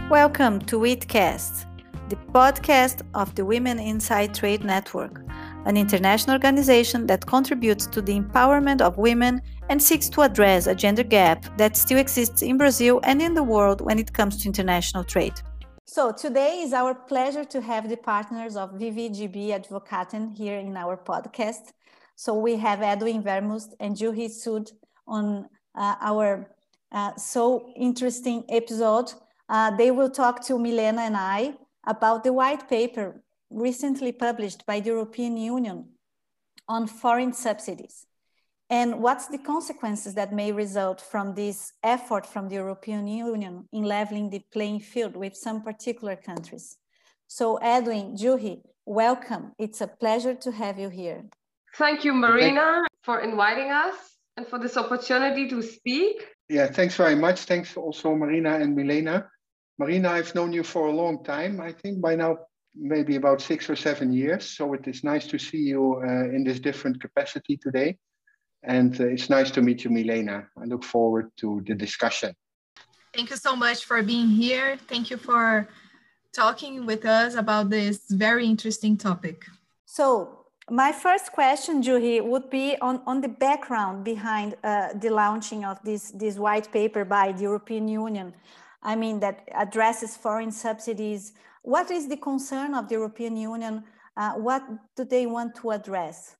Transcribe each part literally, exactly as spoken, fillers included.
Welcome to WITCast, the podcast of the Women Inside Trade Network, an international organization that contributes to the empowerment of women and seeks to address a gender gap that still exists in Brazil and in the world when it comes to international trade. So today is our pleasure to have the partners of V V G B Advocaten here in our podcast. So we have Edwin Vermust and Juhi Sood on uh, our uh, so interesting episode. Uh, they will talk to Milena and I about the white paper recently published by the European Union on foreign subsidies and what's the consequences that may result from this effort from the European Union in leveling the playing field with some particular countries. So Edwin, Juhi, welcome. It's a pleasure to have you here. Thank you, Marina, for inviting us and for this opportunity to speak. Yeah, thanks very much. Thanks also, Marina and Milena. Marina, I've known you for a long time, I think by now, maybe about six or seven years. So it is nice to see you uh, in this different capacity today. And uh, it's nice to meet you, Milena. I look forward to the discussion. Thank you so much for being here. Thank you for talking with us about this very interesting topic. So my first question, Juhi, would be on, on the background behind uh, the launching of this, this white paper by the European Union. I mean, that addresses foreign subsidies. What is the concern of the European Union? Uh, what do they want to address?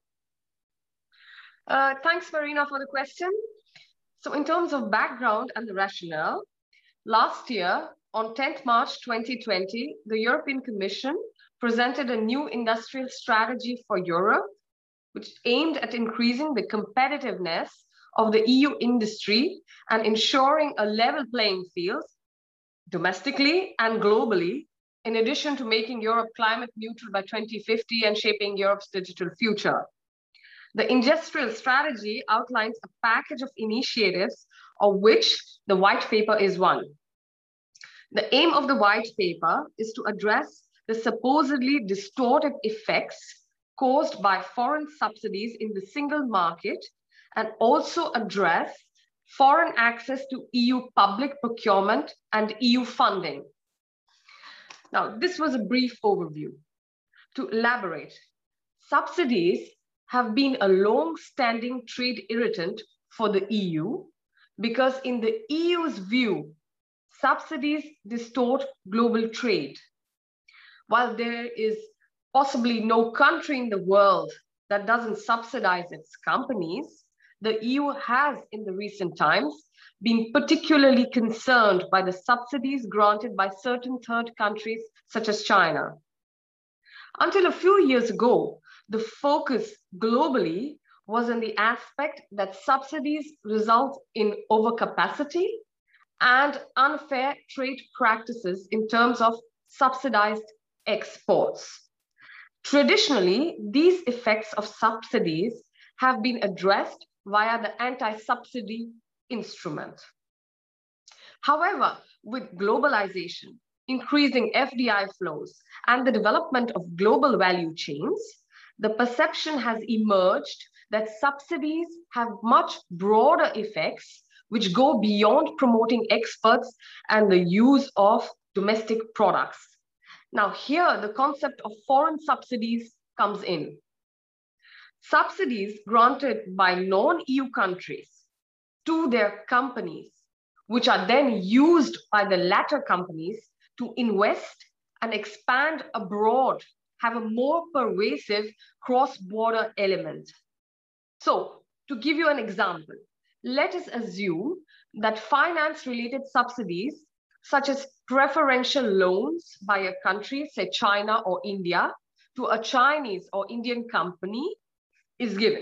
Uh, thanks, Marina, for the question. So in terms of background and the rationale, last year, on tenth March twenty twenty, the European Commission presented a new industrial strategy for Europe, which aimed at increasing the competitiveness of the E U industry and ensuring a level playing field domestically and globally, in addition to making Europe climate neutral by twenty fifty and shaping Europe's digital future. The industrial strategy outlines a package of initiatives, of which the white paper is one. The aim of the white paper is to address the supposedly distorted effects caused by foreign subsidies in the single market and also address foreign access to E U public procurement and E U funding. Now, this was a brief overview. To elaborate, subsidies have been a long-standing trade irritant for the E U because in the E U's view, subsidies distort global trade. While there is possibly no country in the world that doesn't subsidize its companies, the E U has in the recent times been particularly concerned by the subsidies granted by certain third countries such as China. Until a few years ago, the focus globally was on the aspect that subsidies result in overcapacity and unfair trade practices in terms of subsidized exports. Traditionally, these effects of subsidies have been addressed via the anti-subsidy instrument. However, with globalization, increasing F D I flows, and the development of global value chains, the perception has emerged that subsidies have much broader effects which go beyond promoting exports and the use of domestic products. Now here, the concept of foreign subsidies comes in. Subsidies granted by non-E U countries to their companies, which are then used by the latter companies to invest and expand abroad, have a more pervasive cross-border element. So, to give you an example, let us assume that finance-related subsidies, such as preferential loans by a country, say China or India, to a Chinese or Indian company is given.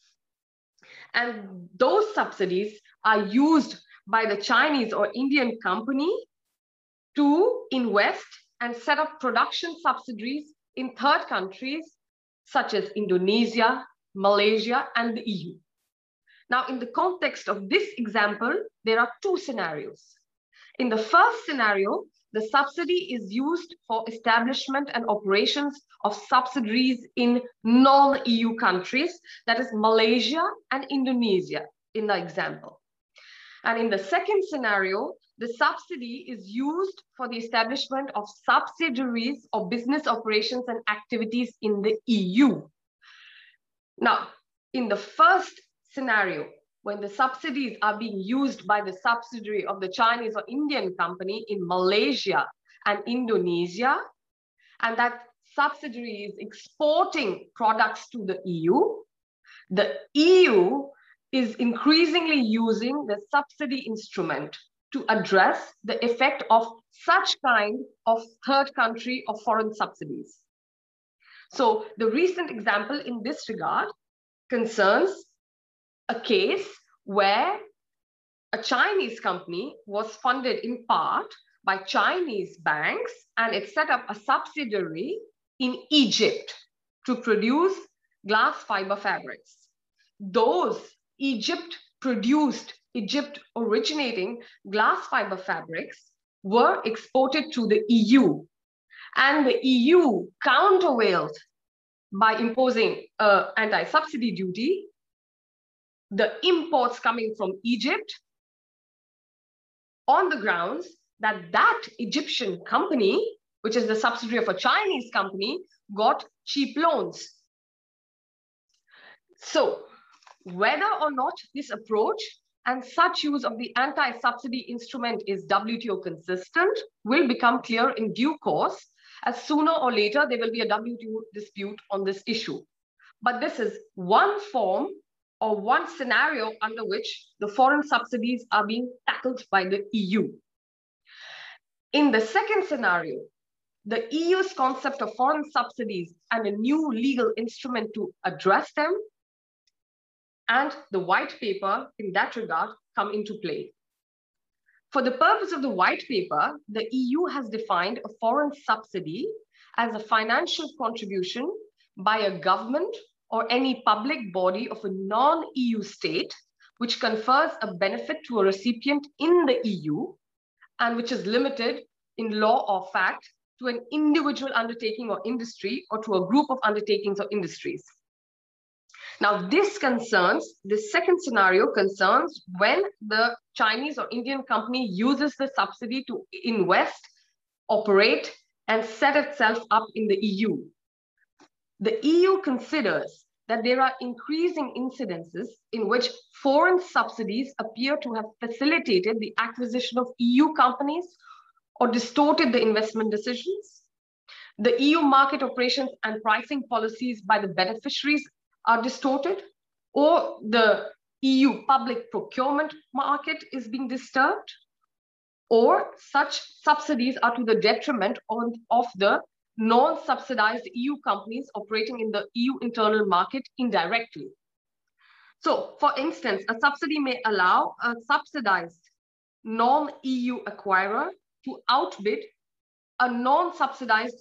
And those subsidies are used by the Chinese or Indian company to invest and set up production subsidiaries in third countries such as Indonesia, Malaysia, and the E U. Now, in the context of this example, there are two scenarios. In the first scenario, the subsidy is used for establishment and operations of subsidiaries in non-E U countries, that is Malaysia and Indonesia in the example. And in the second scenario, the subsidy is used for the establishment of subsidiaries or business operations and activities in the E U. Now, in the first scenario, when the subsidies are being used by the subsidiary of the Chinese or Indian company in Malaysia and Indonesia, and that subsidiary is exporting products to the E U, the E U is increasingly using the subsidy instrument to address the effect of such kind of third country or foreign subsidies. So the recent example in this regard concerns a case where a Chinese company was funded in part by Chinese banks, and it set up a subsidiary in Egypt to produce glass fiber fabrics. Those Egypt produced, Egypt originating glass fiber fabrics were exported to the E U, and the E U countervailed by imposing uh, anti-subsidy duty the imports coming from Egypt on the grounds that that Egyptian company, which is the subsidiary of a Chinese company, got cheap loans. So whether or not this approach and such use of the anti-subsidy instrument is W T O consistent will become clear in due course, as sooner or later there will be a W T O dispute on this issue. But this is one form or one scenario under which the foreign subsidies are being tackled by the E U. In the second scenario, the E U's concept of foreign subsidies and a new legal instrument to address them and the white paper in that regard come into play. For the purpose of the white paper, the E U has defined a foreign subsidy as a financial contribution by a government or any public body of a non-E U state which confers a benefit to a recipient in the E U and which is limited in law or fact to an individual undertaking or industry or to a group of undertakings or industries. Now, this concerns, this second scenario concerns when the Chinese or Indian company uses the subsidy to invest, operate, and set itself up in the E U. The E U considers that there are increasing incidences in which foreign subsidies appear to have facilitated the acquisition of E U companies or distorted the investment decisions. The E U market operations and pricing policies by the beneficiaries are distorted, or the E U public procurement market is being disturbed, or such subsidies are to the detriment of, of the non-subsidized E U companies operating in the E U internal market indirectly. So, for instance, a subsidy may allow a subsidized non-E U acquirer to outbid a non-subsidized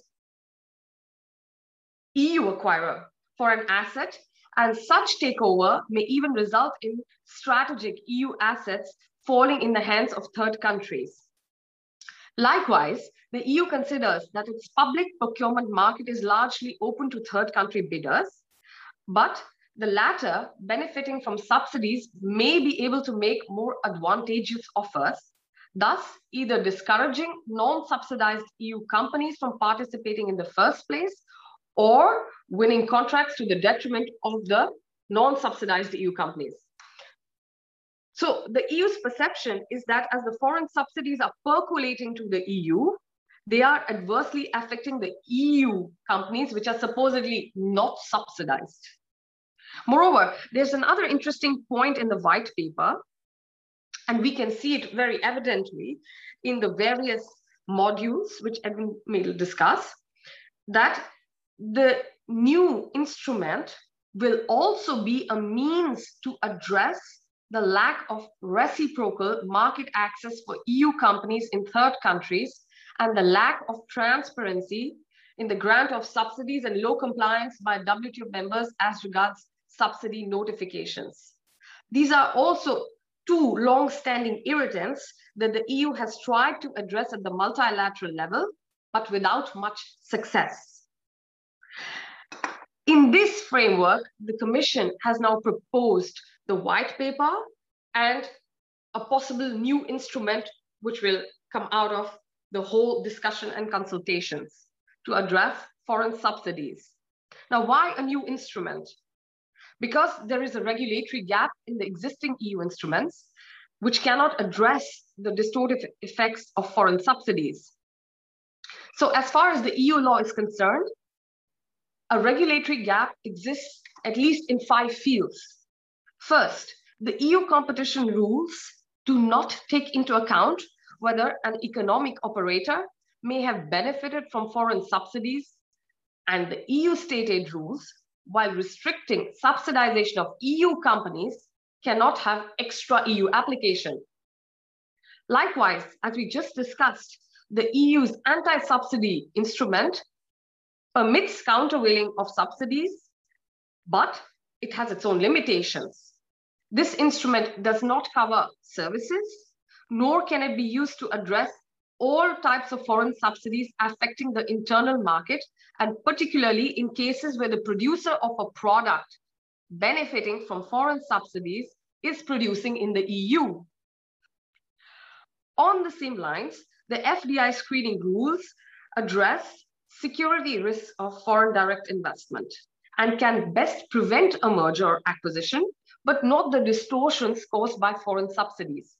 E U acquirer for an asset, and such takeover may even result in strategic E U assets falling in the hands of third countries. Likewise, the E U considers that its public procurement market is largely open to third country bidders, but the latter, benefiting from subsidies, may be able to make more advantageous offers, thus either discouraging non-subsidized E U companies from participating in the first place or winning contracts to the detriment of the non-subsidized E U companies. So the E U's perception is that as the foreign subsidies are percolating to the E U, they are adversely affecting the E U companies which are supposedly not subsidized. Moreover, there's another interesting point in the white paper, and we can see it very evidently in the various modules which Edwin will discuss, that the new instrument will also be a means to address the lack of reciprocal market access for E U companies in third countries and the lack of transparency in the grant of subsidies and low compliance by W T O members as regards subsidy notifications. These are also two long-standing irritants that the E U has tried to address at the multilateral level, but without much success. In this framework, the Commission has now proposed the white paper and a possible new instrument which will come out of the whole discussion and consultations to address foreign subsidies. Now, why a new instrument? Because there is a regulatory gap in the existing E U instruments, which cannot address the distortive effects of foreign subsidies. So as far as the E U law is concerned, a regulatory gap exists at least in five fields. First, the E U competition rules do not take into account whether an economic operator may have benefited from foreign subsidies, and the E U state aid rules, while restricting subsidization of E U companies, cannot have extra E U application. Likewise, as we just discussed, the E U's anti-subsidy instrument permits countervailing of subsidies, but it has its own limitations. This instrument does not cover services, nor can it be used to address all types of foreign subsidies affecting the internal market, and particularly in cases where the producer of a product benefiting from foreign subsidies is producing in the E U. On the same lines, the F D I screening rules address security risks of foreign direct investment and can best prevent a merger or acquisition, but not the distortions caused by foreign subsidies.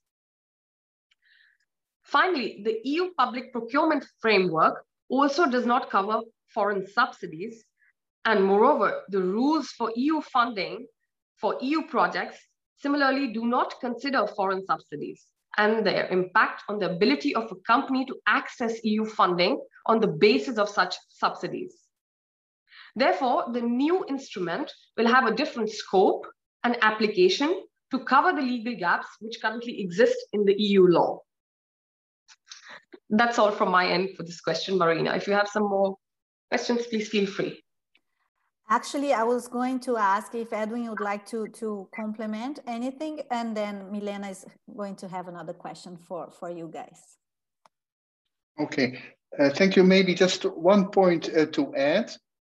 Finally, the E U public procurement framework also does not cover foreign subsidies, and moreover, the rules for E U funding for E U projects similarly do not consider foreign subsidies and their impact on the ability of a company to access E U funding on the basis of such subsidies. Therefore, the new instrument will have a different scope and application to cover the legal gaps which currently exist in the E U law. That's all from my end for this question, Marina. If you have some more questions, please feel free. Actually, I was going to ask if Edwin would like to, to complement anything, and then Milena is going to have another question for, for you guys. Okay, uh, thank you. Maybe just one point uh, to add.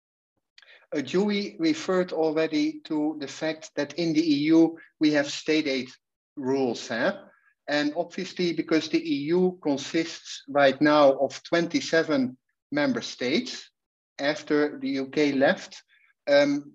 Uh, Julie referred already to the fact that in the E U, we have state aid rules. Huh? And obviously, because the E U consists right now of twenty-seven member states after the U K left, um,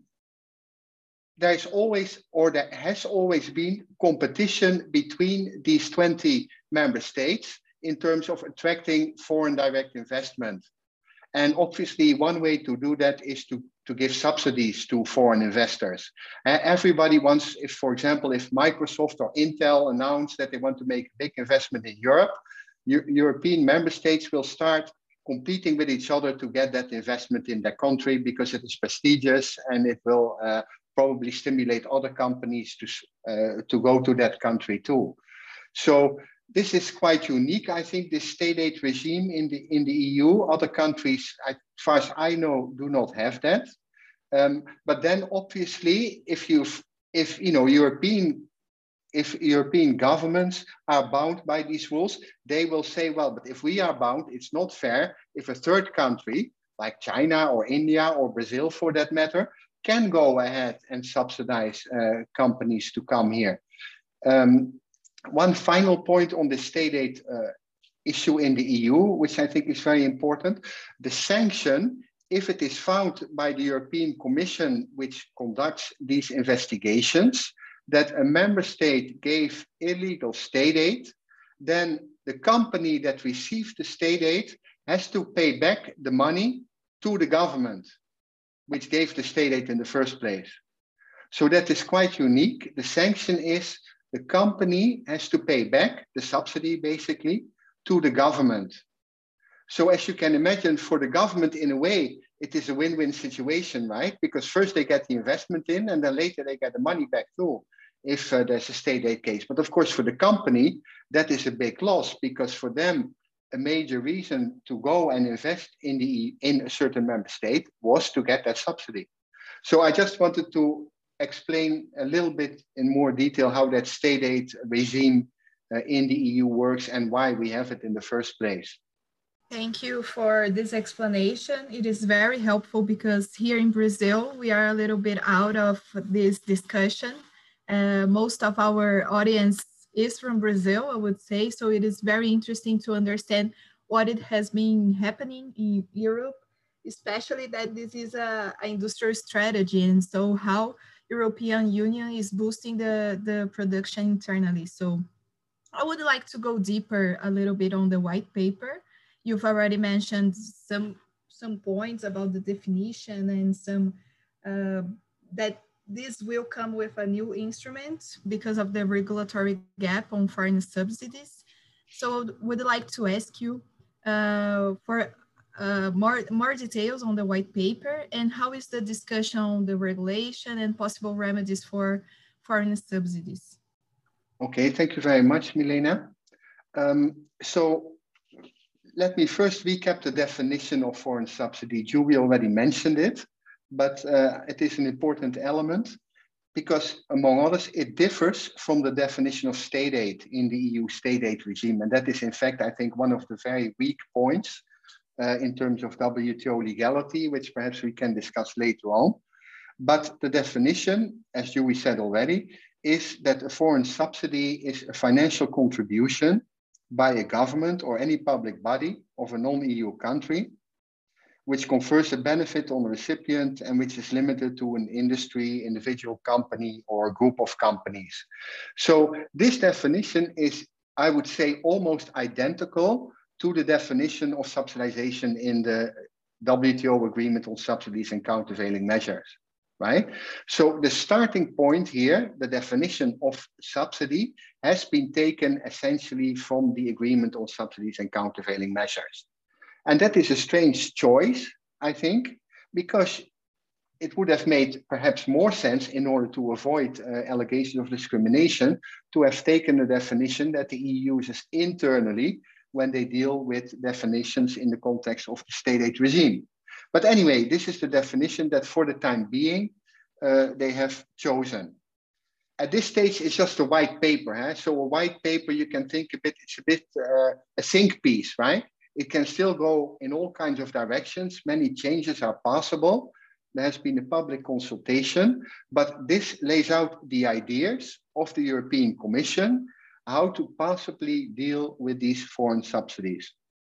there is always, or there has always been, competition between these twenty member states in terms of attracting foreign direct investment. And obviously, one way to do that is to, to give subsidies to foreign investors. Uh, everybody wants, if, for example, if Microsoft or Intel announce that they want to make a big investment in Europe, Euro European member states will start competing with each other to get that investment in their country because it is prestigious and it will uh, probably stimulate other companies to, uh, to go to that country too. So this is quite unique, I think, this state aid regime in the in the E U. Other countries, as far as I know, do not have that. Um, but then, obviously, if you if you know European if European governments are bound by these rules, they will say, well, but if we are bound, it's not fair if a third country like China or India or Brazil, for that matter, can go ahead and subsidize uh, companies to come here. Um, One final point on the state aid uh, issue in the E U, which I think is very important. The sanction, if it is found by the European Commission, which conducts these investigations, that a member state gave illegal state aid, then the company that received the state aid has to pay back the money to the government, which gave the state aid in the first place. So that is quite unique. The sanction is the company has to pay back the subsidy, basically, to the government. So as you can imagine, for the government, in a way, it is a win-win situation, right? Because first they get the investment in, and then later they get the money back too, if uh, there's a state aid case. But of course, for the company, that is a big loss, because for them, a major reason to go and invest in, the, in a certain member state was to get that subsidy. So I just wanted to explain a little bit in more detail how that state aid regime uh, in the E U works and why we have it in the first place. Thank you for this explanation. It is very helpful because here in Brazil, we are a little bit out of this discussion. Uh, most of our audience is from Brazil, I would say. So it is very interesting to understand what it has been happening in Europe, especially that this is a, a industrial strategy, and so how European Union is boosting the, the production internally. So I would like to go deeper a little bit on the white paper. You've already mentioned some, some points about the definition and some uh, that this will come with a new instrument because of the regulatory gap on foreign subsidies. So would like to ask you uh, for uh, more, more details on the white paper, and how is the discussion on the regulation and possible remedies for foreign subsidies? Okay, thank you very much, Milena. Um, so let me first recap the definition of foreign subsidy. Julie already mentioned it, but uh, it is an important element because, among others, it differs from the definition of state aid in the E U state aid regime. And that is, in fact, I think, one of the very weak points uh, in terms of W T O legality, which perhaps we can discuss later on. But the definition, as Julie said already, is that a foreign subsidy is a financial contribution by a government or any public body of a non-E U country, which confers a benefit on the recipient and which is limited to an industry, individual company, or a group of companies. So this definition is, I would say, almost identical to the definition of subsidization in the W T O agreement on subsidies and countervailing measures, right? So the starting point here, the definition of subsidy, has been taken essentially from the agreement on subsidies and countervailing measures. And that is a strange choice, I think, because it would have made perhaps more sense, in order to avoid uh, allegations of discrimination, to have taken the definition that the E U uses internally when they deal with definitions in the context of the state aid regime. But anyway, this is the definition that for the time being, uh, they have chosen. At this stage, it's just a white paper. Huh? So a white paper, you can think a bit, it's a bit uh, a think piece, right? It can still go in all kinds of directions. Many changes are possible. There has been a public consultation, but this lays out the ideas of the European Commission, how to possibly deal with these foreign subsidies.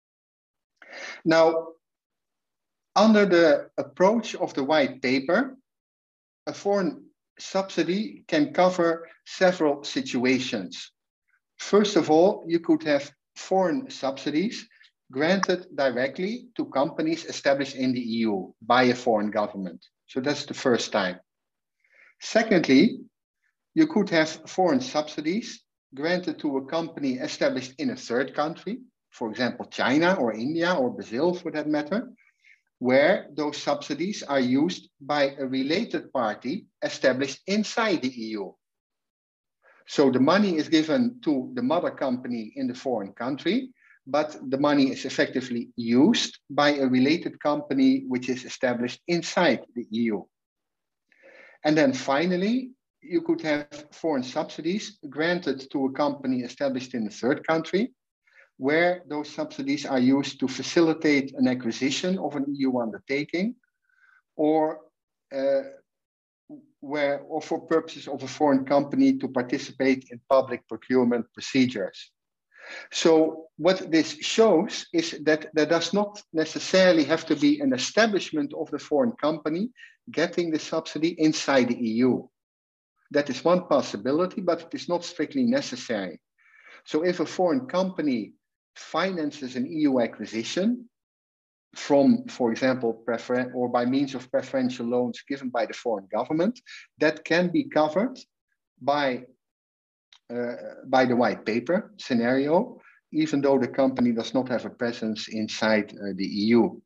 Now, under the approach of the white paper, a foreign subsidy can cover several situations. First of all, you could have foreign subsidies granted directly to companies established in the E U by a foreign government. So that's the first time. Secondly, you could have foreign subsidies granted to a company established in a third country, for example, China or India or Brazil for that matter, where those subsidies are used by a related party established inside the E U. So the money is given to the mother company in the foreign country, but the money is effectively used by a related company which is established inside the E U. And then finally, you could have foreign subsidies granted to a company established in a third country, where those subsidies are used to facilitate an acquisition of an E U undertaking, or uh, where, or for purposes of a foreign company to participate in public procurement procedures. So what this shows is that there does not necessarily have to be an establishment of the foreign company getting the subsidy inside the E U. That is one possibility, but it is not strictly necessary. So if a foreign company finances an E U acquisition from, for example, prefer or by means of preferential loans given by the foreign government, that can be covered by Uh, by the white paper scenario, even though the company does not have a presence inside uh, the E U.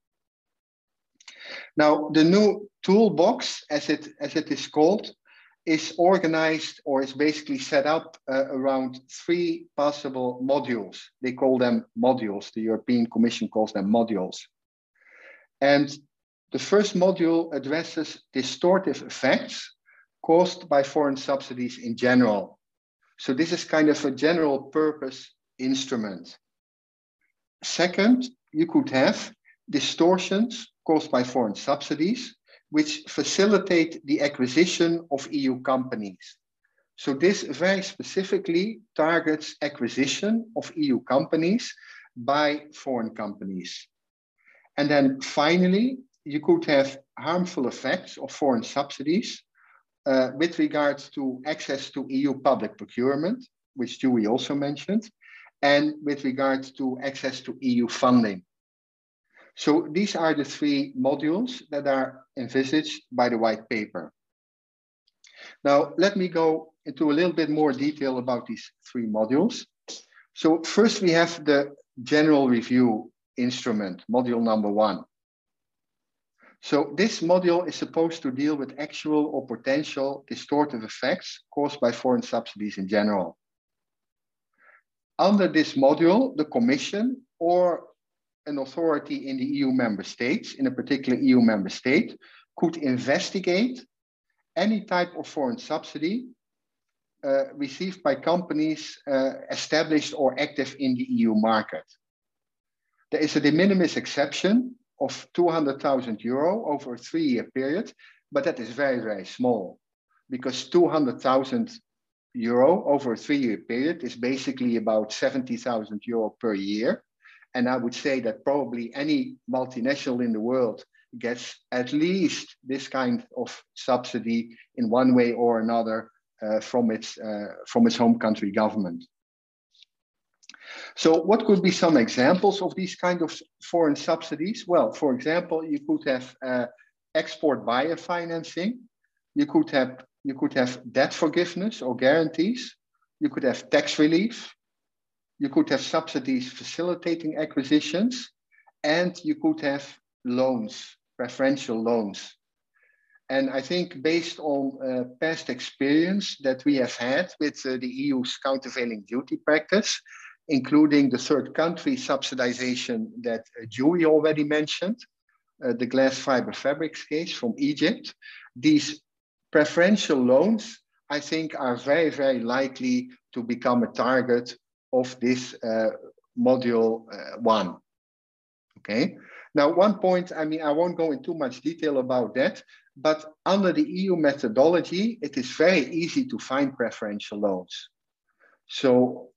Now, the new toolbox, as it, as it is called, is organized or is basically set up uh, around three possible modules. They call them modules. The European Commission calls them modules. And the first module addresses distortive effects caused by foreign subsidies in general. So this is kind of a general purpose instrument. Second, you could have distortions caused by foreign subsidies, which facilitate the acquisition of E U companies. So this very specifically targets acquisition of E U companies by foreign companies. And then finally, you could have harmful effects of foreign subsidies uh, with regards to access to E U public procurement, which Dewey also mentioned, and with regards to access to E U funding. So these are the three modules that are envisaged by the white paper. Now, let me go into a little bit more detail about these three modules. So first we have the general review instrument, module number one. So this module is supposed to deal with actual or potential distortive effects caused by foreign subsidies in general. Under this module, the Commission or an authority in the E U member states, in a particular E U member state, could investigate any type of foreign subsidy uh, received by companies uh, established or active in the E U market. There is a de minimis exception of two hundred thousand euro over a three-year period, but that is very, very small because two hundred thousand euro over a three-year period is basically about seventy thousand euro per year. And I would say that probably any multinational in the world gets at least this kind of subsidy in one way or another uh, from its, uh, from its home country government. So what could be some examples of these kind of foreign subsidies? Well, for example, you could have uh, export buyer financing. You could have, you could have debt forgiveness or guarantees. You could have tax relief. You could have subsidies facilitating acquisitions. And you could have loans, preferential loans. And I think based on uh, past experience that we have had with uh, the E U's countervailing duty practice, including the third country subsidization that uh, Dewey already mentioned, uh, the glass fiber fabrics case from Egypt. These preferential loans, I think, are very, very likely to become a target of this uh, module uh, one. Okay. Now, one point, I mean, I won't go into too much detail about that, but under the E U methodology, it is very easy to find preferential loans. So,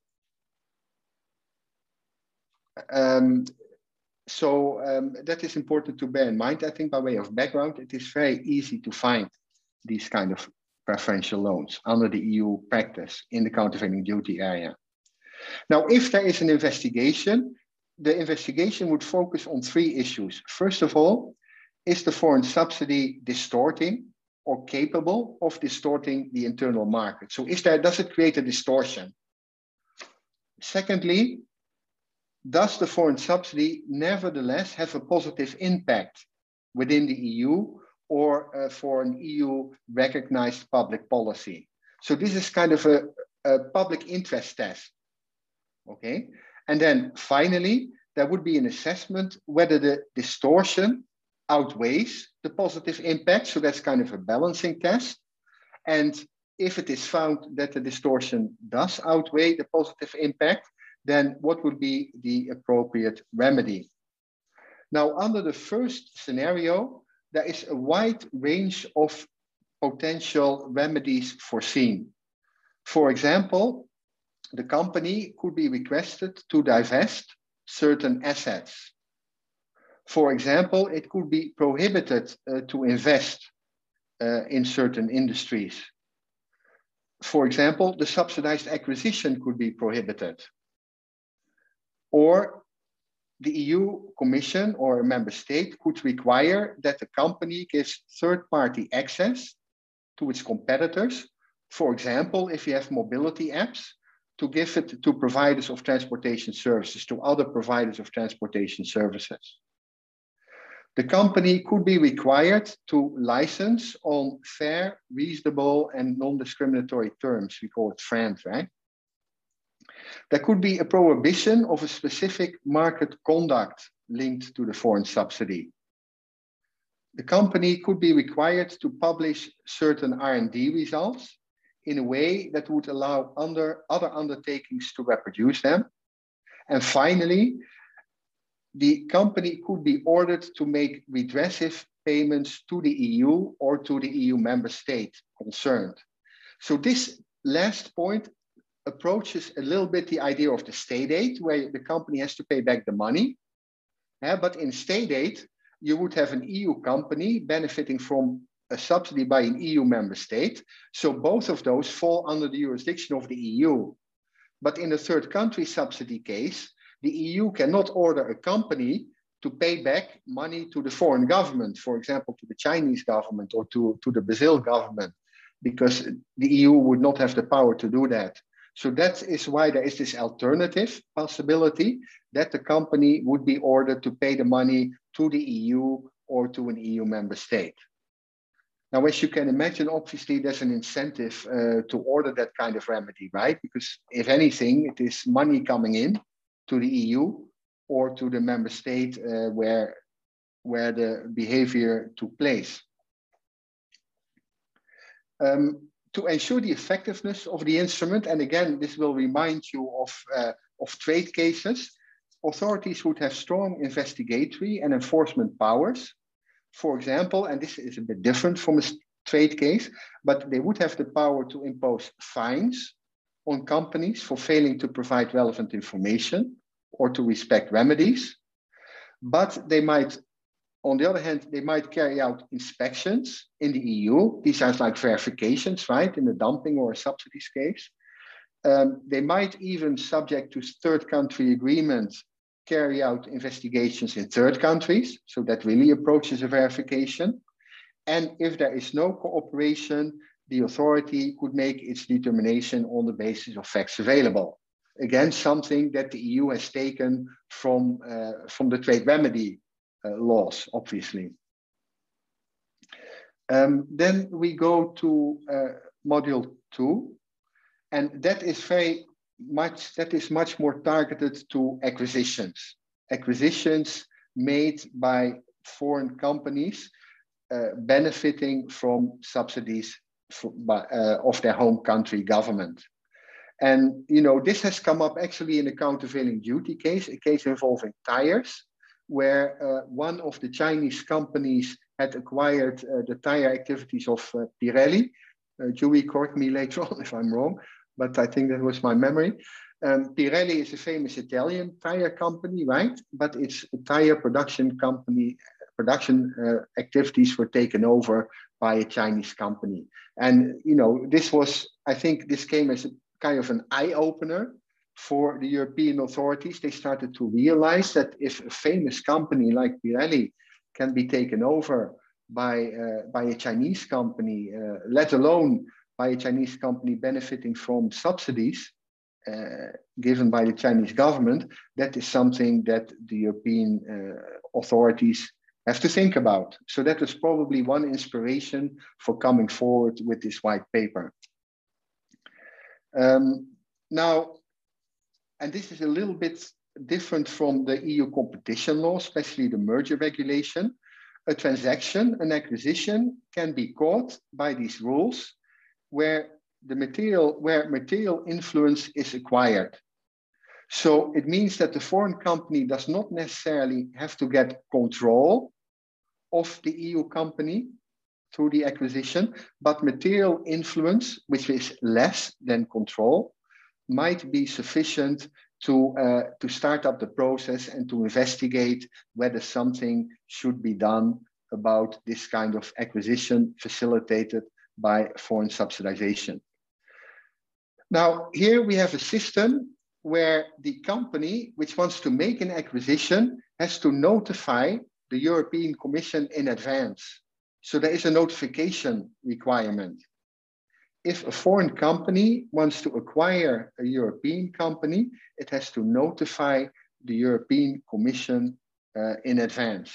Um, so um, that is important to bear in mind. I think by way of background, it is very easy to find these kind of preferential loans under the E U practice in the countervailing duty area. Now, if there is an investigation, the investigation would focus on three issues. First of all, is the foreign subsidy distorting or capable of distorting the internal market? So is there, does it create a distortion? Secondly, does the foreign subsidy nevertheless have a positive impact within the E U or uh, for an E U recognized public policy? So this is kind of a, a public interest test, okay? And then finally, there would be an assessment whether the distortion outweighs the positive impact. So that's kind of a balancing test. And if it is found that the distortion does outweigh the positive impact, then what would be the appropriate remedy? Now, under the first scenario, there is a wide range of potential remedies foreseen. For example, the company could be requested to divest certain assets. For example, it could be prohibited uh, to invest uh, in certain industries. For example, the subsidized acquisition could be prohibited. Or the E U Commission or a member state could require that the company gives third-party access to its competitors. For example, if you have mobility apps, to give it to providers of transportation services, to other providers of transportation services. The company could be required to license on fair, reasonable, and non-discriminatory terms. We call it FRAND, right? There could be a prohibition of a specific market conduct linked to the foreign subsidy. The company could be required to publish certain R and D results in a way that would allow under other undertakings to reproduce them. And finally, the company could be ordered to make redressive payments to the E U or to the E U member state concerned. So this last point approaches a little bit the idea of the state aid, where the company has to pay back the money. Yeah, but in state aid, you would have an E U company benefiting from a subsidy by an E U member state. So both of those fall under the jurisdiction of the E U. But in a third country subsidy case, the E U cannot order a company to pay back money to the foreign government, for example, to the Chinese government or to, to the Brazil government, because the E U would not have the power to do that. So that is why there is this alternative possibility that the company would be ordered to pay the money to the E U or to an E U member state. Now, as you can imagine, obviously there's an incentive uh, to order that kind of remedy, right? Because if anything, it is money coming in to the E U or to the member state uh, where, where the behavior took place. Um, to ensure the effectiveness of the instrument, and again, this will remind you of, uh, of trade cases, authorities would have strong investigatory and enforcement powers. For example, and this is a bit different from a trade case, but they would have the power to impose fines on companies for failing to provide relevant information or to respect remedies. But they might, on the other hand, they might carry out inspections in the E U. These are like verifications, right, in a dumping or a subsidies case. Um, they might even, subject to third country agreements, carry out investigations in third countries. So that really approaches a verification. And if there is no cooperation, the authority could make its determination on the basis of facts available. Again, something that the E U has taken from, uh, from the trade remedy uh, laws, obviously. Um, then we go to uh, module two, and that is very much, that is much more targeted to acquisitions. Acquisitions made by foreign companies uh, benefiting from subsidies for, by, uh, of their home country government. And, you know, this has come up actually in a countervailing duty case, a case involving tires, where uh, one of the Chinese companies had acquired uh, the tire activities of uh, Pirelli. Uh, Julie, correct me later on if I'm wrong, but I think that was my memory. Um, Pirelli is a famous Italian tire company, right? But its tire production company, production uh, activities were taken over by a Chinese company. And, you know, this was, I think this came as a kind of an eye-opener for the European authorities. They started to realize that if a famous company like Pirelli can be taken over by, uh, by a Chinese company, uh, let alone by a Chinese company benefiting from subsidies uh, given by the Chinese government, that is something that the European uh, authorities have to think about. So that was probably one inspiration for coming forward with this white paper. Um, now, and this is a little bit different from the E U competition law, especially the merger regulation. A transaction, an acquisition, can be caught by these rules where the material, where material influence is acquired. So it means that the foreign company does not necessarily have to get control of the E U company through the acquisition, but material influence, which is less than control, might be sufficient to, uh, to start up the process and to investigate whether something should be done about this kind of acquisition facilitated by foreign subsidization. Now, here we have a system where the company which wants to make an acquisition has to notify the European Commission in advance. So there is a notification requirement. If a foreign company wants to acquire a European company, it has to notify the European Commission uh, in advance.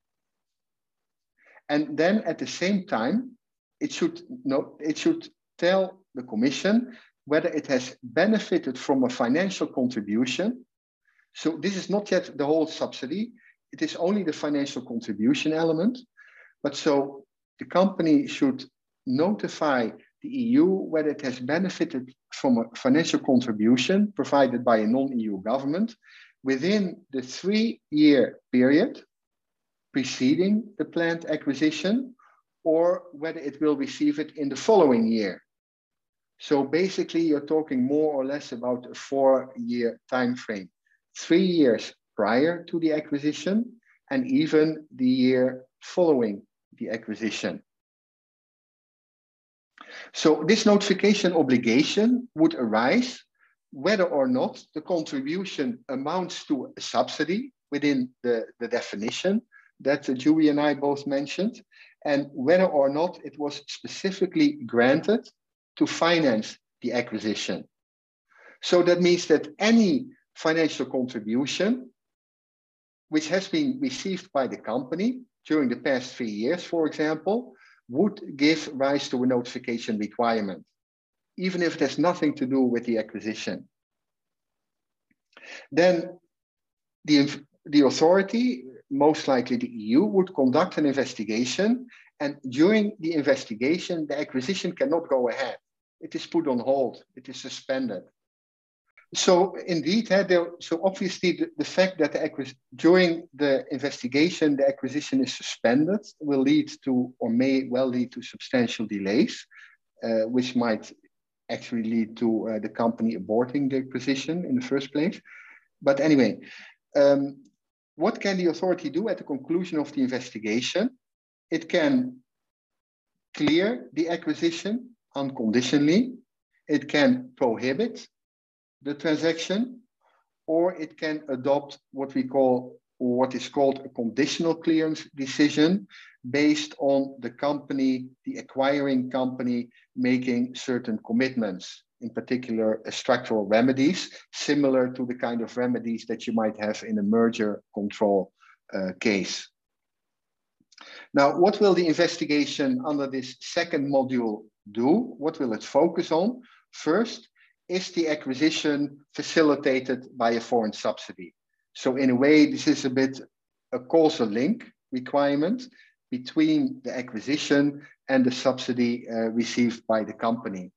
And then at the same time, it should, no, it should tell the Commission whether it has benefited from a financial contribution. So this is not yet the whole subsidy. It is only the financial contribution element. But so the company should notify the E U whether it has benefited from a financial contribution provided by a non-E U government within the three-year period preceding the planned acquisition, or whether it will receive it in the following year. So basically, you're talking more or less about a four-year time frame, three years prior to the acquisition, and even the year following the acquisition. So this notification obligation would arise whether or not the contribution amounts to a subsidy within the, the definition that Julie and I both mentioned, and whether or not it was specifically granted to finance the acquisition. So that means that any financial contribution which has been received by the company during the past three years, for example, would give rise to a notification requirement, even if it has nothing to do with the acquisition. Then the, the authority, most likely the E U, would conduct an investigation, and during the investigation, the acquisition cannot go ahead. It is put on hold, it is suspended. So indeed, uh, there, so obviously the, the fact that the during the investigation, the acquisition is suspended will lead to, or may well lead to, substantial delays, uh, which might actually lead to uh, the company aborting the acquisition in the first place. But anyway, um, what can the authority do at the conclusion of the investigation? It can clear the acquisition unconditionally. It can prohibit the transaction, or it can adopt what we call, or what is called, a conditional clearance decision based on the company, the acquiring company, making certain commitments, in particular uh, structural remedies, similar to the kind of remedies that you might have in a merger control uh, case. Now, what will the investigation under this second module do? What will it focus on? First, is the acquisition facilitated by a foreign subsidy? So in a way, this is a bit a causal link requirement between the acquisition and the subsidy uh, received by the company.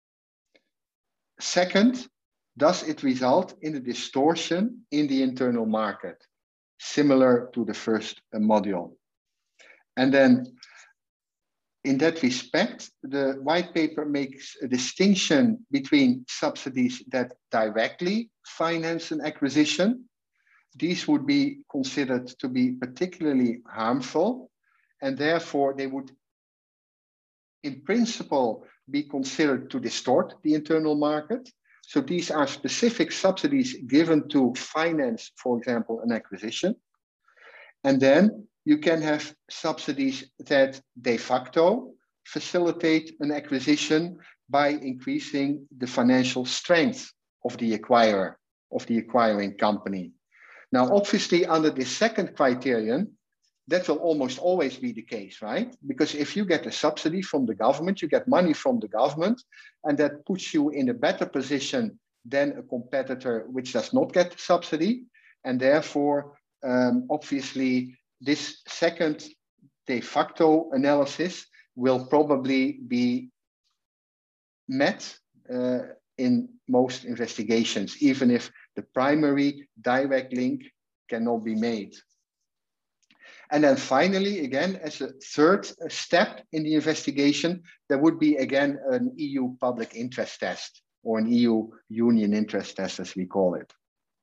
Second, does it result in a distortion in the internal market, similar to the first uh, module? And then in that respect, the white paper makes a distinction between subsidies that directly finance an acquisition. These would be considered to be particularly harmful, and therefore they would, in principle, be considered to distort the internal market. So these are specific subsidies given to finance, for example, an acquisition. And then you can have subsidies that de facto facilitate an acquisition by increasing the financial strength of the acquirer, of the acquiring company. Now, obviously, under this second criterion, that will almost always be the case, right? Because if you get a subsidy from the government, you get money from the government, and that puts you in a better position than a competitor which does not get the subsidy. And therefore, um, obviously, this second de facto analysis will probably be met uh, in most investigations, even if the primary direct link cannot be made. And then finally, again, as a third step in the investigation, there would be again an E U public interest test, or an E U union interest test, as we call it.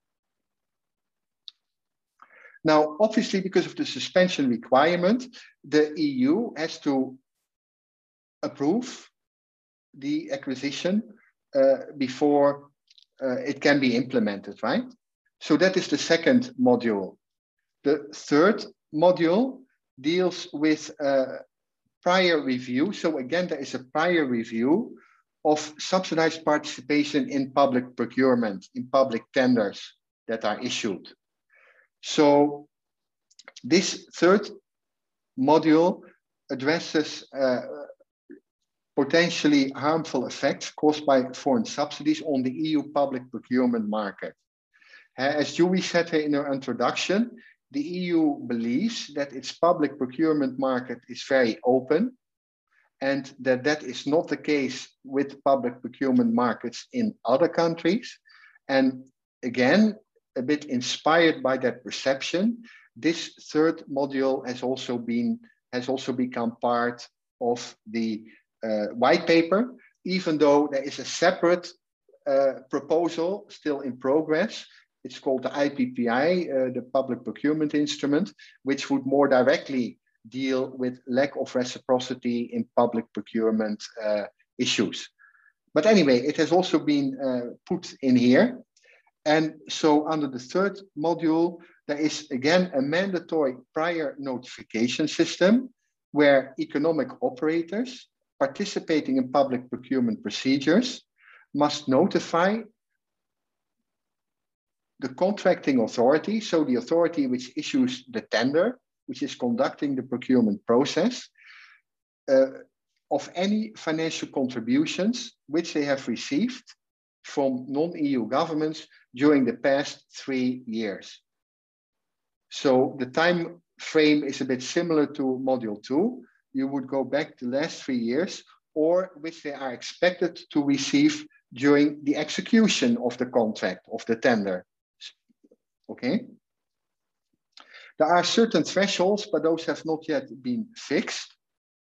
Now, obviously, because of the suspension requirement, the E U has to approve the acquisition uh, before uh, it can be implemented, right? So that is the second module. The third module deals with uh, prior review. So again, there is a prior review of subsidized participation in public procurement, in public tenders that are issued. So this third module addresses uh, potentially harmful effects caused by foreign subsidies on the E U public procurement market. As Julie said here in her introduction, the E U believes that its public procurement market is very open, and that that is not the case with public procurement markets in other countries. And again, a bit inspired by that perception, this third module has also been has also become part of the uh, white paper even though there is a separate uh, proposal still in progress. It's called the I P P I, uh, the Public Procurement Instrument, which would more directly deal with lack of reciprocity in public procurement uh, issues. But anyway, it has also been uh, put in here. And so under the third module, there is again a mandatory prior notification system where economic operators participating in public procurement procedures must notify the contracting authority, so the authority which issues the tender, which is conducting the procurement process, uh, of any financial contributions which they have received from non-E U governments during the past three years. So the time frame is a bit similar to module two. You would go back the last three years, or which they are expected to receive during the execution of the contract, of the tender. Okay. There are certain thresholds, but those have not yet been fixed.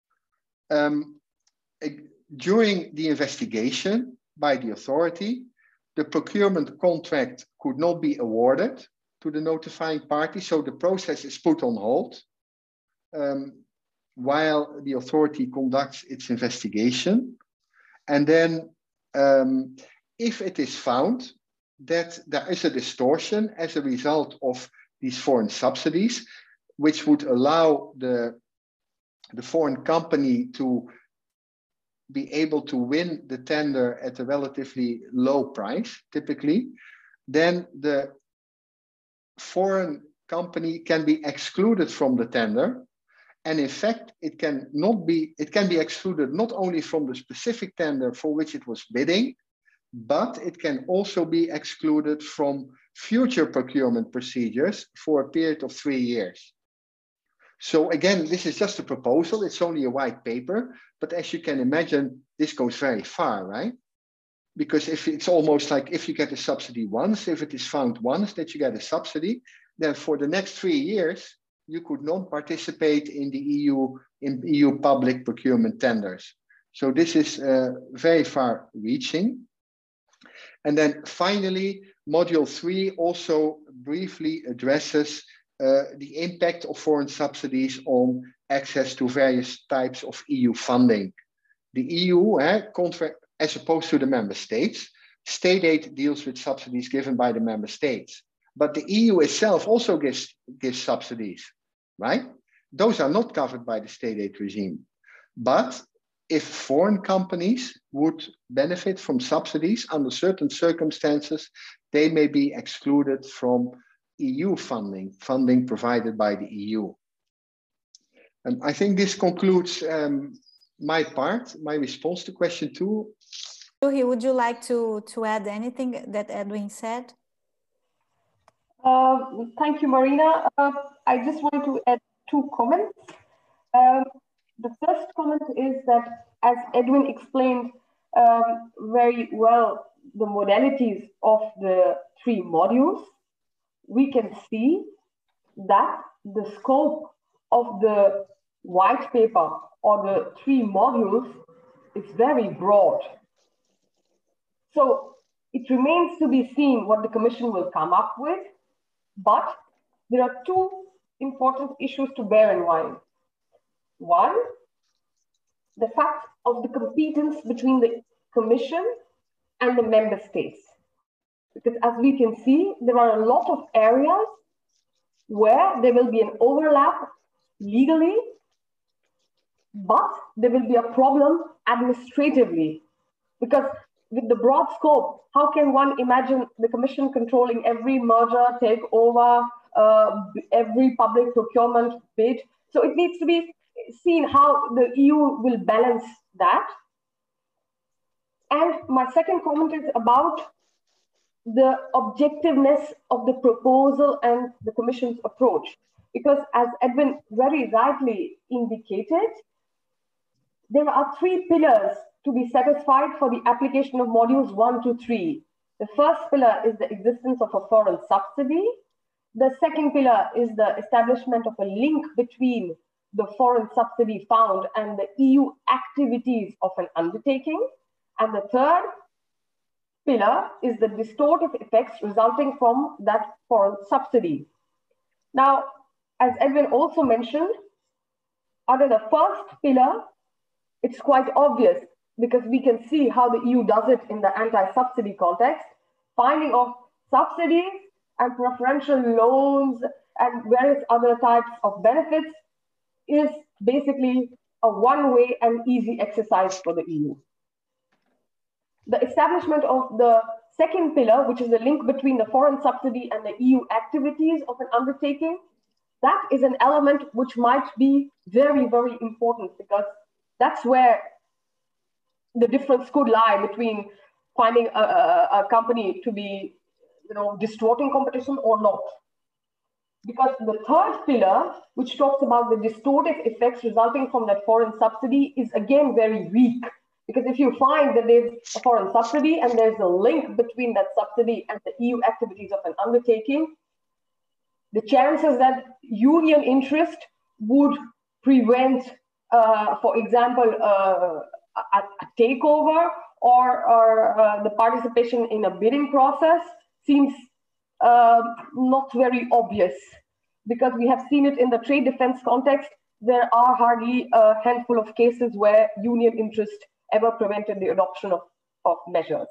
Um, during the investigation by the authority, the procurement contract could not be awarded to the notifying party, so the process is put on hold um, while the authority conducts its investigation. And then um, if it is found that there is a distortion as a result of these foreign subsidies, which would allow the, the foreign company to be able to win the tender at a relatively low price, typically, then the foreign company can be excluded from the tender. And in fact, it can not be, it can be excluded not only from the specific tender for which it was bidding, but it can also be excluded from future procurement procedures for a period of three years. So again, this is just a proposal. It's only a white paper, but as you can imagine, this goes very far, right? Because if it's almost like if you get a subsidy once, if it is found once that you get a subsidy, then for the next three years, you could not participate in the E U, in E U public procurement tenders. So this is uh, very far reaching. And then finally, module three also briefly addresses uh, the impact of foreign subsidies on access to various types of E U funding. The E U, eh, contract, as opposed to the member states, state aid deals with subsidies given by the member states. But the E U itself also gives, gives subsidies, right? Those are not covered by the state aid regime. But if foreign companies would benefit from subsidies under certain circumstances, they may be excluded from E U funding, funding provided by the E U. And I think this concludes um, my part, my response to question two. Juhi, would you like to, to add anything that Edwin said? Uh, thank you, Marina. Uh, I just want to add two comments. Um, the first comment is that, as Edwin explained um, very well, the modalities of the three modules, we can see that the scope of the white paper or the three modules is very broad. So it remains to be seen what the Commission will come up with, but there are two important issues to bear in mind. One, the fact of the competence between the Commission and the member states. Because as we can see, there are a lot of areas where there will be an overlap legally, but there will be a problem administratively. Because with the broad scope, how can one imagine the Commission controlling every merger, takeover, uh, every public procurement bid? So it needs to be seen how the E U will balance that. And my second comment is about the objectiveness of the proposal and the Commission's approach. Because as Edwin very rightly indicated, there are three pillars to be satisfied for the application of modules one to three. The first pillar is the existence of a foreign subsidy. The second pillar is the establishment of a link between the foreign subsidy found and the E U activities of an undertaking. And the third pillar is the distortive effects resulting from that foreign subsidy. Now, as Edwin also mentioned, under the first pillar, it's quite obvious because we can see how the E U does it in the anti-subsidy context, finding of subsidies and preferential loans and various other types of benefits is basically a one-way and easy exercise for the E U. The establishment of the second pillar, which is the link between the foreign subsidy and the E U activities of an undertaking, that is an element which might be very, very important because that's where the difference could lie between finding a, a, a company to be, you know, distorting competition or not. Because the third pillar, which talks about the distortive effects resulting from that foreign subsidy, is again very weak. Because if you find that there's a foreign subsidy and there's a link between that subsidy and the E U activities of an undertaking, the chances that union interest would prevent, uh, for example, uh, a, a takeover or, or uh, the participation in a bidding process seems uh, not very obvious. Because we have seen it in the trade defense context, there are hardly a handful of cases where union interest ever prevented the adoption of, of measures.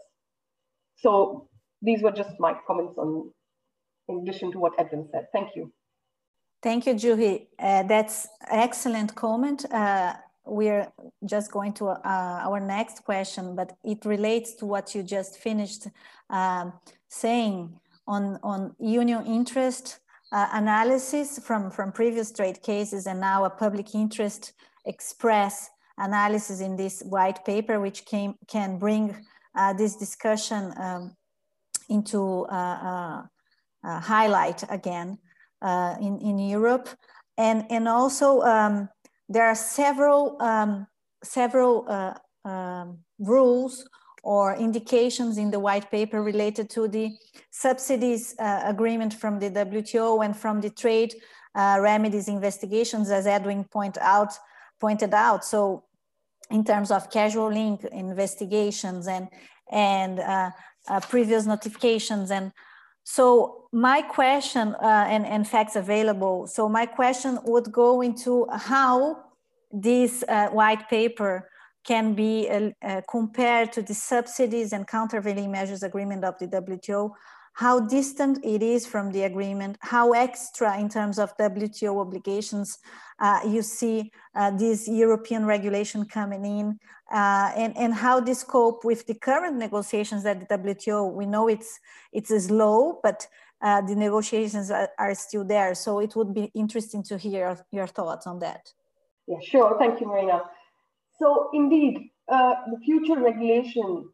So these were just my comments on, in addition to what Edwin said. Thank you. Thank you, Juhi. Uh, that's excellent comment. Uh, we're just going to uh, our next question, but it relates to what you just finished um, saying on, on union interest uh, analysis from, from previous trade cases and now a public interest express analysis in this white paper, which came, can bring uh, this discussion um, into uh, uh, uh, highlight again uh, in, in Europe. And, and also um, there are several, um, several uh, um, rules or indications in the white paper related to the subsidies uh, agreement from the W T O and from the trade uh, remedies investigations, as Edwin point out, pointed out. So in terms of casual link investigations and, and uh, uh, previous notifications. And so my question, uh, and, and facts available, so my question would go into how this uh, white paper can be uh, uh, compared to the subsidies and countervailing measures agreement of the W T O, how distant it is from the agreement, how extra in terms of W T O obligations uh, you see uh, this European regulation coming in, uh, and, and how this cope with the current negotiations at the W T O. We know it's, it's slow, but uh, the negotiations are, are still there. So it would be interesting to hear your thoughts on that. Yeah, sure. Thank you, Marina. So indeed, uh, the future regulation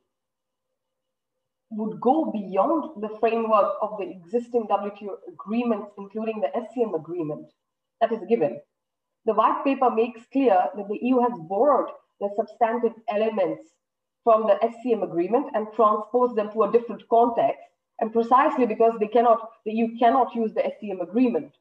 would go beyond the framework of the existing W T O agreements, including the S C M agreement. That is given. The white paper makes clear that the E U has borrowed the substantive elements from the S C M agreement and transposed them to a different context, and precisely because they cannot, the E U cannot use the S C M agreement.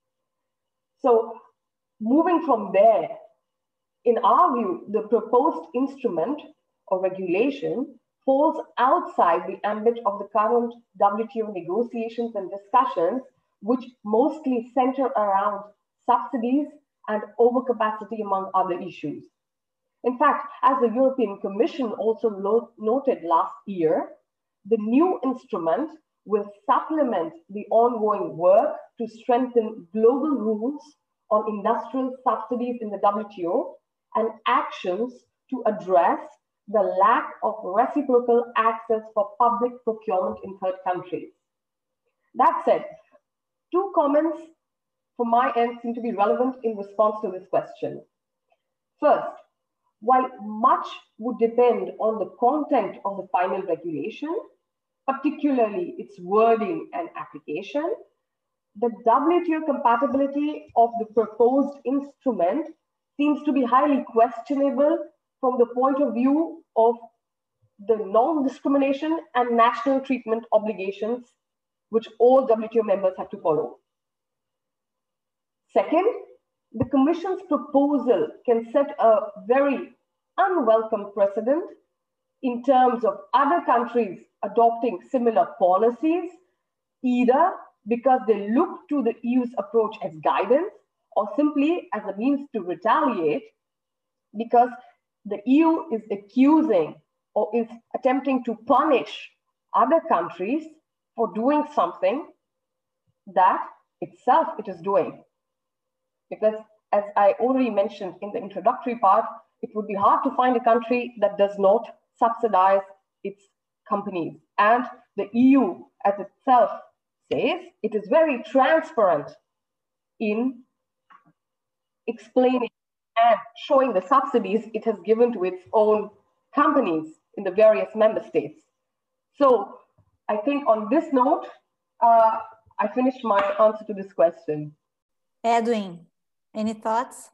So moving from there, in our view, the proposed instrument or regulation falls outside the ambit of the current W T O negotiations and discussions, which mostly center around subsidies and overcapacity, among other issues. In fact, as the European Commission also noted last year, the new instrument will supplement the ongoing work to strengthen global rules on industrial subsidies in the W T O and actions to address the lack of reciprocal access for public procurement in third countries. That said, two comments from my end seem to be relevant in response to this question. First, while much would depend on the content of the final regulation, particularly its wording and application, the W T O compatibility of the proposed instrument seems to be highly questionable from the point of view of the non-discrimination and national treatment obligations which all W T O members have to follow. Second, the Commission's proposal can set a very unwelcome precedent in terms of other countries adopting similar policies, either because they look to the E U's approach as guidance or simply as a means to retaliate because the E U is accusing or is attempting to punish other countries for doing something that itself it is doing. Because as I already mentioned in the introductory part, it would be hard to find a country that does not subsidize its companies. And the E U as itself says, it is very transparent in explaining and showing the subsidies it has given to its own companies in the various member states. So I think on this note, uh, I finished my answer to this question. Edwin, any thoughts?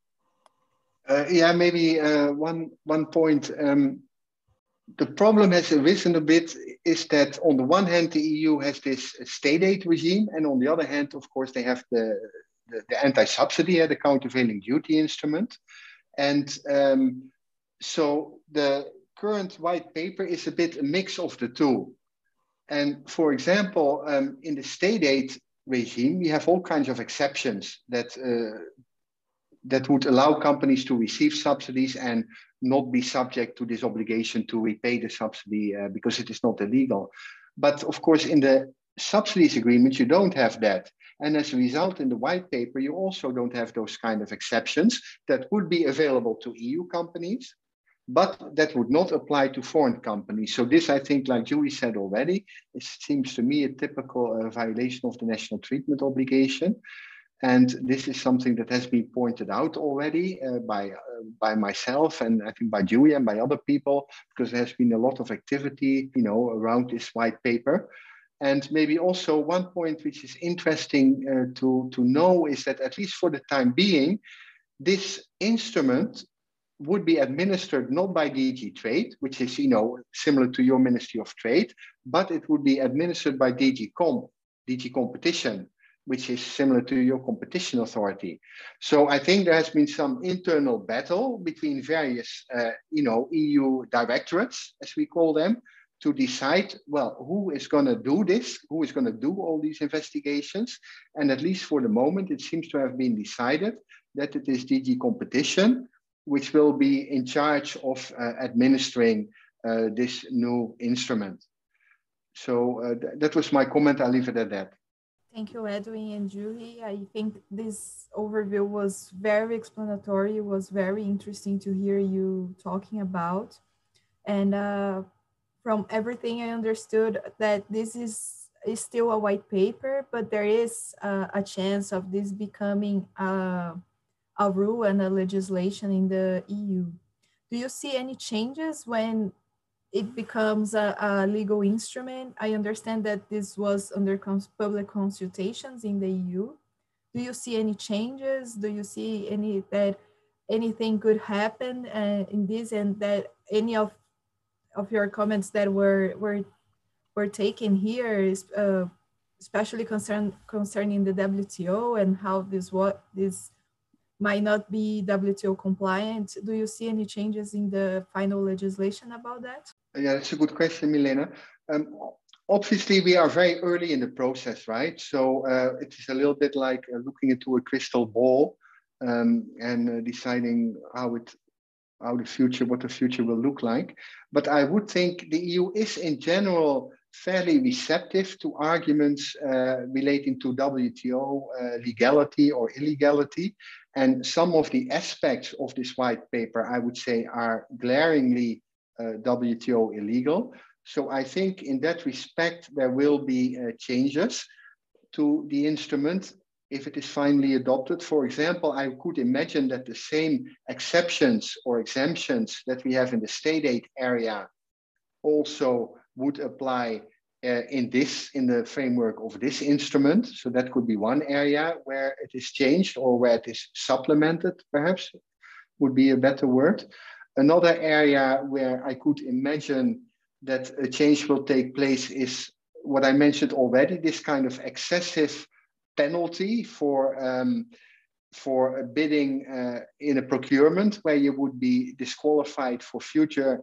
Uh, yeah, maybe uh, one, one point. Um, the problem has arisen a bit is that on the one hand, the E U has this state aid regime, and on the other hand, of course, they have the, the, the anti-subsidy, uh, the countervailing duty instrument. And um, so the current white paper is a bit a mix of the two. And for example, um, in the state aid regime, we have all kinds of exceptions that uh, that would allow companies to receive subsidies and not be subject to this obligation to repay the subsidy uh, because it is not illegal. But of course, in the subsidies agreement, you don't have that. And as a result, in the white paper, you also don't have those kind of exceptions that would be available to E U companies, but that would not apply to foreign companies. So this, I think, like Julie said already, it seems to me a typical uh, violation of the national treatment obligation. And this is something that has been pointed out already uh, by, uh, by myself and I think by Julia and by other people, because there has been a lot of activity, you know, around this white paper. And maybe also one point which is interesting uh, to, to know is that at least for the time being, this instrument would be administered not by D G Trade, which is, you know, similar to your Ministry of Trade, but it would be administered by D G Com, D G Competition, which is similar to your competition authority. So I think there has been some internal battle between various, uh, you know, E U directorates, as we call them, to decide, well, who is going to do this, who is going to do all these investigations. And at least for the moment, it seems to have been decided that it is D G Competition, which will be in charge of uh, administering uh, this new instrument. So uh, th that was my comment. I'll leave it at that. Thank you, Edwin and Julie. I think this overview was very explanatory. It was very interesting to hear you talking about. And uh, from everything I understood that this is, is still a white paper, but there is uh, a chance of this becoming a, a rule and a legislation in the E U. Do you see any changes when it becomes a, a legal instrument? I understand that this was under cons public consultations in the E U. Do you see any changes? Do you see any that anything could happen uh, in this, and that any of of your comments that were were were taken here is uh, especially concern concerning the W T O and how this what this might not be W T O compliant? Do you see any changes in the final legislation about that? Yeah, that's a good question, Milena. Um, obviously, we are very early in the process, right? So uh, it is a little bit like uh, looking into a crystal ball um, and uh, deciding how it, how the future, what the future will look like. But I would think the E U is in general fairly receptive to arguments uh, relating to W T O uh, legality or illegality. And some of the aspects of this white paper, I would say, are glaringly Uh, W T O illegal. So I think in that respect, there will be uh, changes to the instrument if it is finally adopted. For example, I could imagine that the same exceptions or exemptions that we have in the state aid area also would apply uh, in this, in the framework of this instrument. So that could be one area where it is changed or where it is supplemented, perhaps would be a better word. Another area where I could imagine that a change will take place is what I mentioned already, this kind of excessive penalty for, um, for a bidding uh, in a procurement where you would be disqualified for future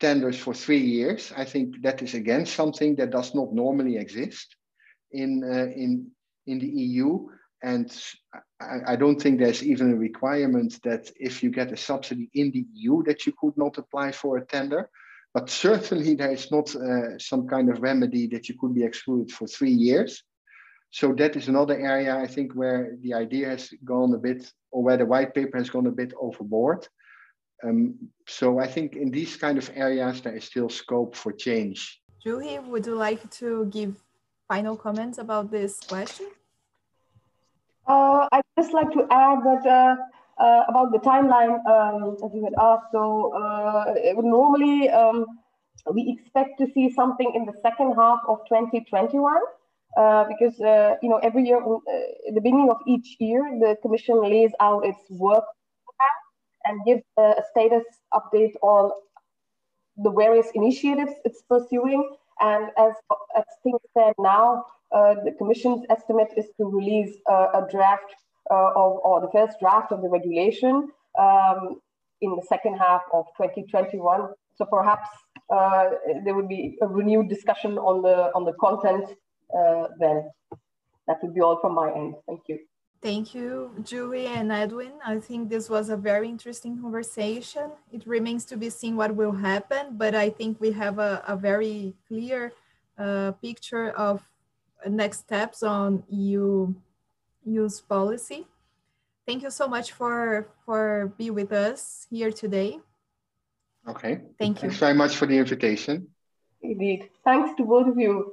tenders for three years. I think that is again something that does not normally exist in uh, in in the E U. And I, I don't think there's even a requirement that if you get a subsidy in the E U that you could not apply for a tender. But certainly there is not uh, some kind of remedy that you could be excluded for three years. So that is another area, I think, where the idea has gone a bit, or where the white paper has gone a bit overboard. Um, so I think in these kind of areas, there is still scope for change. Juhi, would you like to give final comments about this question? Uh, I'd just like to add that uh, uh, about the timeline, um, as you had asked. So uh, it would normally, um, we expect to see something in the second half of twenty twenty-one, uh, because uh, you know every year, uh, at the beginning of each year, the Commission lays out its work plan and gives uh, a status update on the various initiatives it's pursuing. And as as things stand now, uh, the Commission's estimate is to release uh, a draft uh, of, or the first draft of the regulation um, in the second half of twenty twenty-one. So perhaps uh, there would be a renewed discussion on the on the content uh, then. That would be all from my end. Thank you. Thank you, Juhi and Edwin. I think this was a very interesting conversation. It remains to be seen what will happen, but I think we have a, a very clear uh, picture of next steps on E U use policy. Thank you so much for, for being with us here today. Okay. Thank you. Thanks very much for the invitation. Indeed. Thanks to both of you.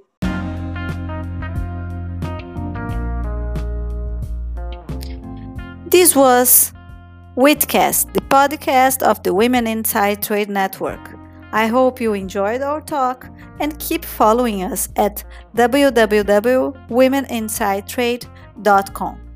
This was Witcast, the podcast of the Women Inside Trade Network. I hope you enjoyed our talk and keep following us at w w w dot women inside trade dot com.